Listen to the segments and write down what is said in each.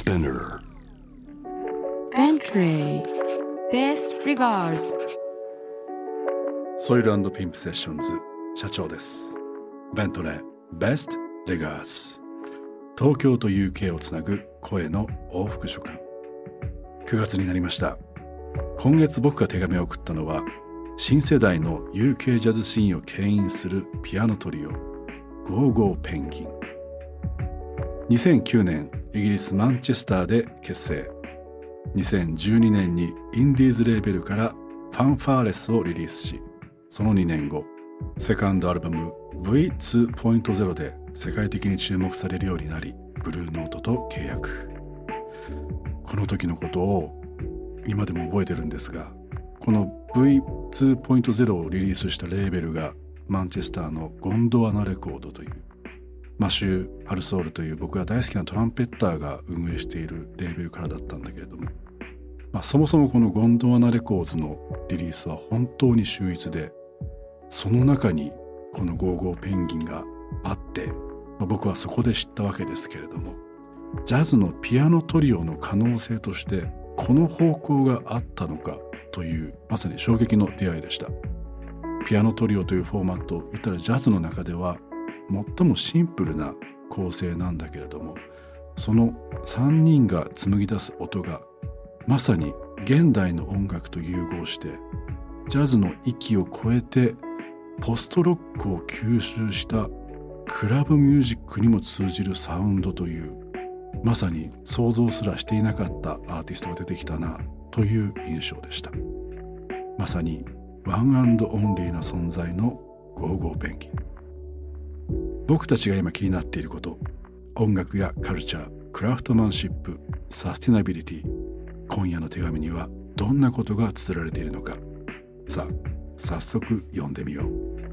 Spinner Bentley Best Regards ソイル&ピンプセッションズ社長です。ベントレー Best Regards 東京と UK をつなぐ声の往復書簡。9月になりました。今月僕が手紙を送ったのは新世代の UK ジャズシーンを牽引するピアノトリオゴーゴーペンギン。2009年イギリスマンチェスターで結成。2012年にインディーズレーベルからファンファーレスをリリースし、その2年後セカンドアルバム V2.0 で世界的に注目されるようになり、ブルーノートと契約。この時のことを今でも覚えてるんですが、この V2.0 をリリースしたレーベルがマンチェスターのゴンドワナレコードという、マシュー・ハルソールという僕が大好きなトランペッターが運営しているレーベルからだったんだけれども、そもそもこのゴンドワナレコーズのリリースは本当に秀逸で、その中にこのゴーゴーペンギンがあって、僕はそこで知ったわけですけれども、ジャズのピアノトリオの可能性としてこの方向があったのかという、まさに衝撃の出会いでした。ピアノトリオというフォーマットを言ったらジャズの中では最もシンプルな構成なんだけれども、その3人が紡ぎ出す音がまさに現代の音楽と融合して、ジャズの域を超えてポストロックを吸収したクラブミュージックにも通じるサウンドという、まさに想像すらしていなかったアーティストが出てきたなという印象でした。まさにワン&オンリーな存在のゴーゴーペンギン。僕たちが今気になっていること、音楽やカルチャー、クラフトマンシップ、サスティナビリティ、今夜の手紙にはどんなことが綴られているのか。さあ、早速読んでみよう。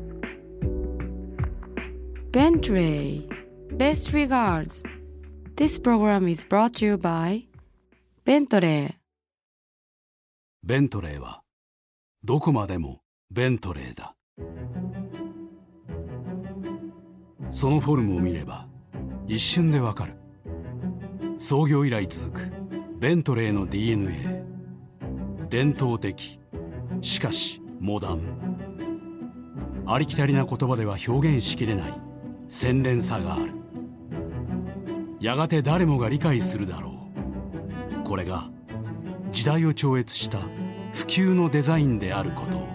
Bentley Best Regards. This program is brought to you by Bentley. ベントレーはどこまでもベントレーだ。そのフォルムを見れば一瞬でわかる。創業以来続くベントレーの DNA。 伝統的、しかしモダン。ありきたりな言葉では表現しきれない洗練さがある。やがて誰もが理解するだろう。これが時代を超越した普及のデザインであることを。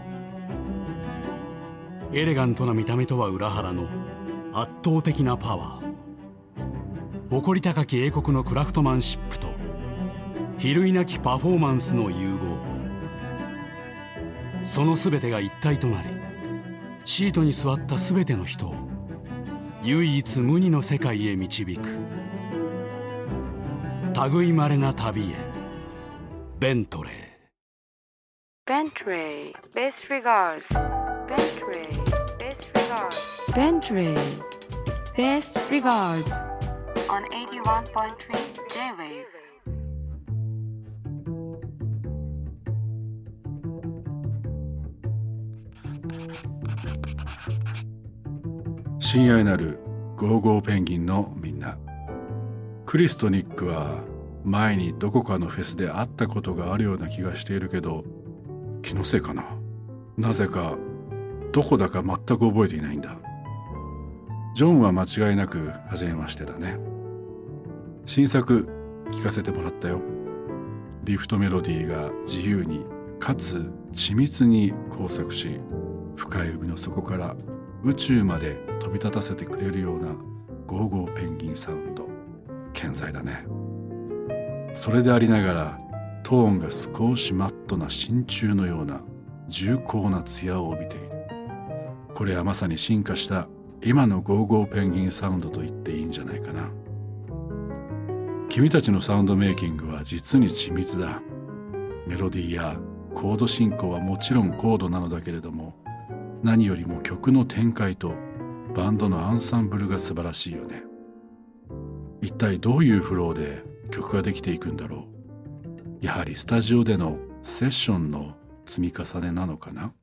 エレガントな見た目とは裏腹の圧倒的なパワー。誇り高き英国のクラフトマンシップと比類なきパフォーマンスの融合。その全てが一体となり、シートに座った全ての人を唯一無二の世界へ導く。類まれな旅へ、ベントレー。 Bentley Best Regards. Bentley Best Regards. Bentley Best Regards on 81.3 J-Wave. 親愛なるゴーゴーペンギンのみんな、クリスとニックは前にどこかのフェスで会ったことがあるような気がしているけど、気のせいかな。なぜかどこだか全く覚えていないんだ。ジョンは間違いなく初めましてだね。新作聴かせてもらったよ。リフトメロディーが自由にかつ緻密に工作し、深い海の底から宇宙まで飛び立たせてくれるようなゴーゴーペンギンサウンド、健在だね。それでありながらトーンが少しマットな真鍮のような重厚な艶を帯びている。これはまさに進化した今のゴーゴーペンギンサウンドと言っていいんじゃないかな。君たちのサウンドメイキングは実に緻密だ。メロディーやコード進行はもちろん高度なのだけれども、何よりも曲の展開とバンドのアンサンブルが素晴らしいよね。一体どういうフローで曲ができていくんだろう。やはりスタジオでのセッションの積み重ねなのかな。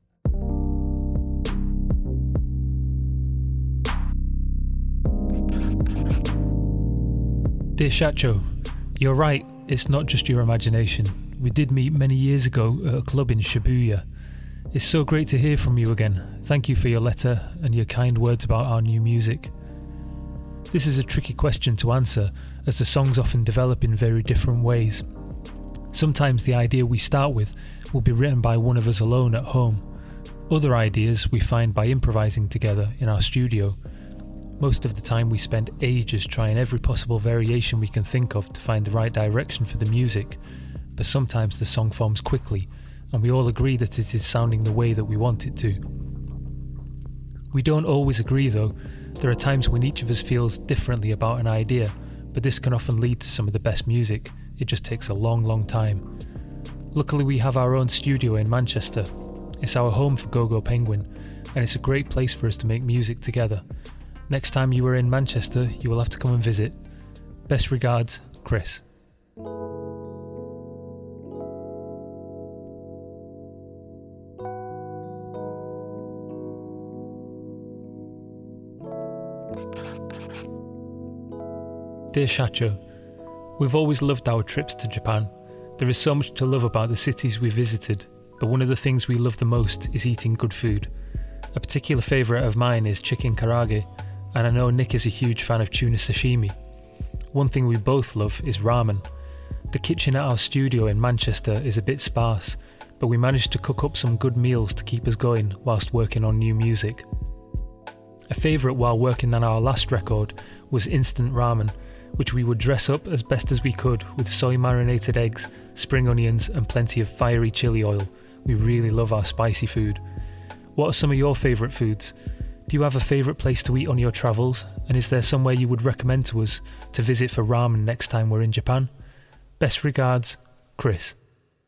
で、社長、 You're right, it's not just your imagination. We did meet many years ago at a club in Shibuya. It's so great to hear from you again. Thank you for your letter and your kind words about our new music. This is a tricky question to answer, as the songs often develop in very different ways. Sometimes the idea we start with will be written by one of us alone at home. Other ideas we find by improvising together in our studio. Most of the time we spend ages trying every possible variation we can think of to find the right direction for the music, but sometimes the song forms quickly and we all agree that it is sounding the way that we want it to. We don't always agree though. There are times when each of us feels differently about an idea, but this can often lead to some of the best music. It just takes a long time. Luckily we have our own studio in Manchester. It's our home for GoGo Penguin, and it's a great place for us to make music together. Next time you are in Manchester, you will have to come and visit. Best regards, Chris. Dear Shacho, we've always loved our trips to Japan. There is so much to love about the cities we visited, but one of the things we love the most is eating good food. A particular favourite of mine is chicken karage, and I know Nick is a huge fan of tuna sashimi. One thing we both love is ramen. The kitchen at our studio in Manchester is a bit sparse, but we managed to cook up some good meals to keep us going whilst working on new music. A favourite while working on our last record was instant ramen, which we would dress up as best as we could with soy marinated eggs, spring onions and plenty of fiery chili oil. We really love our spicy food. What are some of your favourite foods? Do you have a favourite place to eat on your travels? And is there somewhere you would recommend to us to visit for ramen next time we're in Japan? Best regards, Chris.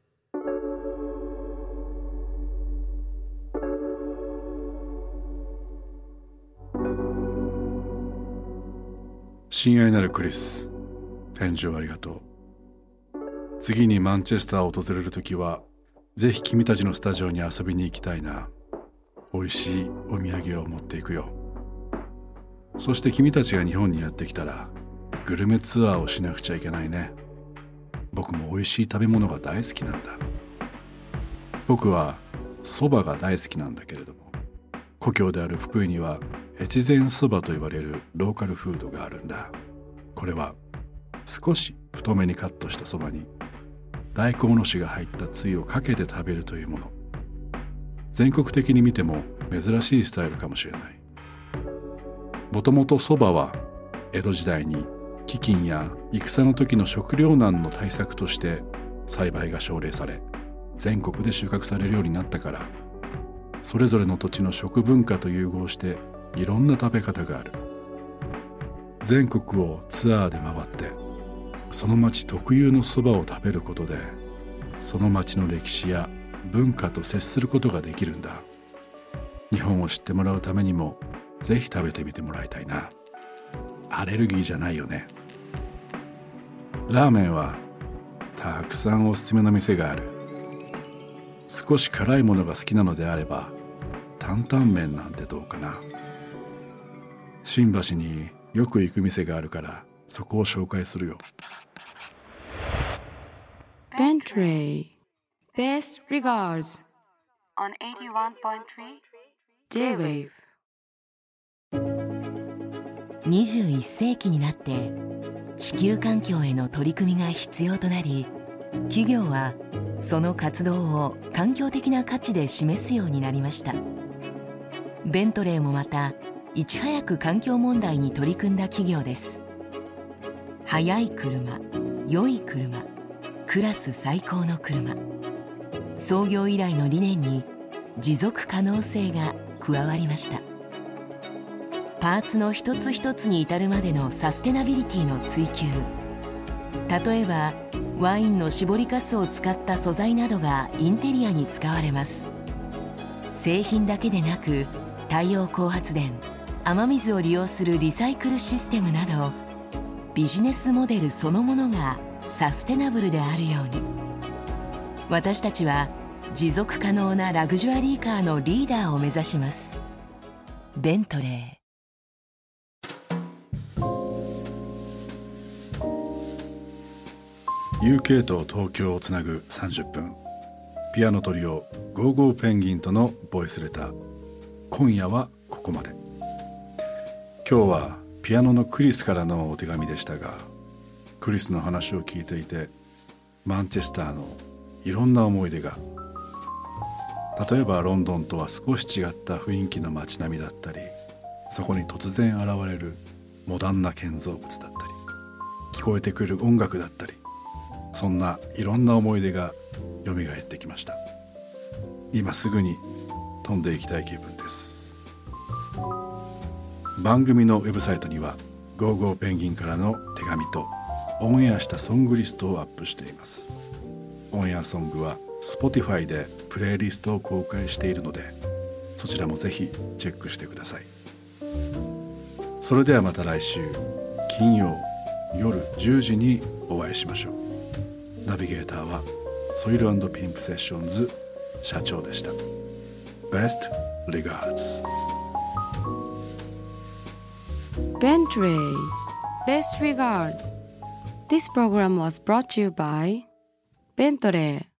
親愛なるクリス、返事をありがとう。次にマンチェスターを訪れるときは、ぜひ君たちのスタジオに遊びに行きたいな。美味しいお土産を持っていくよ。そして君たちが日本にやってきたら、グルメツアーをしなくちゃいけないね。僕も美味しい食べ物が大好きなんだ。僕は蕎麦が大好きなんだけれども、故郷である福井には越前蕎麦と言われるローカルフードがあるんだ。これは少し太めにカットした蕎麦に大根おろしが入ったつゆをかけて食べるというもの。全国的に見ても珍しいスタイルかもしれない。もともと蕎麦は江戸時代に飢饉や戦の時の食糧難の対策として栽培が奨励され、全国で収穫されるようになったから、それぞれの土地の食文化と融合していろんな食べ方がある。全国をツアーで回ってその町特有の蕎麦を食べることで、その町の歴史や文化と接することができるんだ。日本を知ってもらうためにもぜひ食べてみてもらいたいな。アレルギーじゃないよね。ラーメンはたくさんおすすめの店がある。少し辛いものが好きなのであれば担々麺なんてどうかな。新橋によく行く店があるからそこを紹介するよ。 Bentley Best regards on 81.3 J-Wave。 21世紀になって地球環境への取り組みが必要となり、企業はその活動を環境的な価値で示すようになりました。ベントレーもまたいち早く環境問題に取り組んだ企業です。速い車、良い車、クラス最高の車。創業以来の理念に持続可能性が加わりました。パーツの一つ一つに至るまでのサステナビリティの追求。例えばワインの搾りかすを使った素材などがインテリアに使われます。製品だけでなく太陽光発電、雨水を利用するリサイクルシステムなど、ビジネスモデルそのものがサステナブルであるように、私たちは持続可能なラグジュアリーカーのリーダーを目指します。ベントレー。 UK と東京をつなぐ30分、ピアノトリオゴーゴーペンギンとのボイスレター。今夜はここまで。今日はピアノのクリスからのお手紙でしたが、クリスの話を聞いていてマンチェスターのいろんな思い出が、例えばロンドンとは少し違った雰囲気の街並みだったり、そこに突然現れるモダンな建造物だったり、聞こえてくる音楽だったり、そんないろんな思い出がよみがえってきました。今すぐに飛んでいきたい気分です。番組のウェブサイトにはゴーゴーペンギンからの手紙とオンエアしたソングリストをアップしています。オンエアソングは Spotify でプレイリストを公開しているので、そちらもぜひチェックしてください。それではまた来週金曜夜10時にお会いしましょう。ナビゲーターはソイル&ピンプセッションズ社長でした。 Best regards Bentley Best regards. This program was brought to you by Bentley.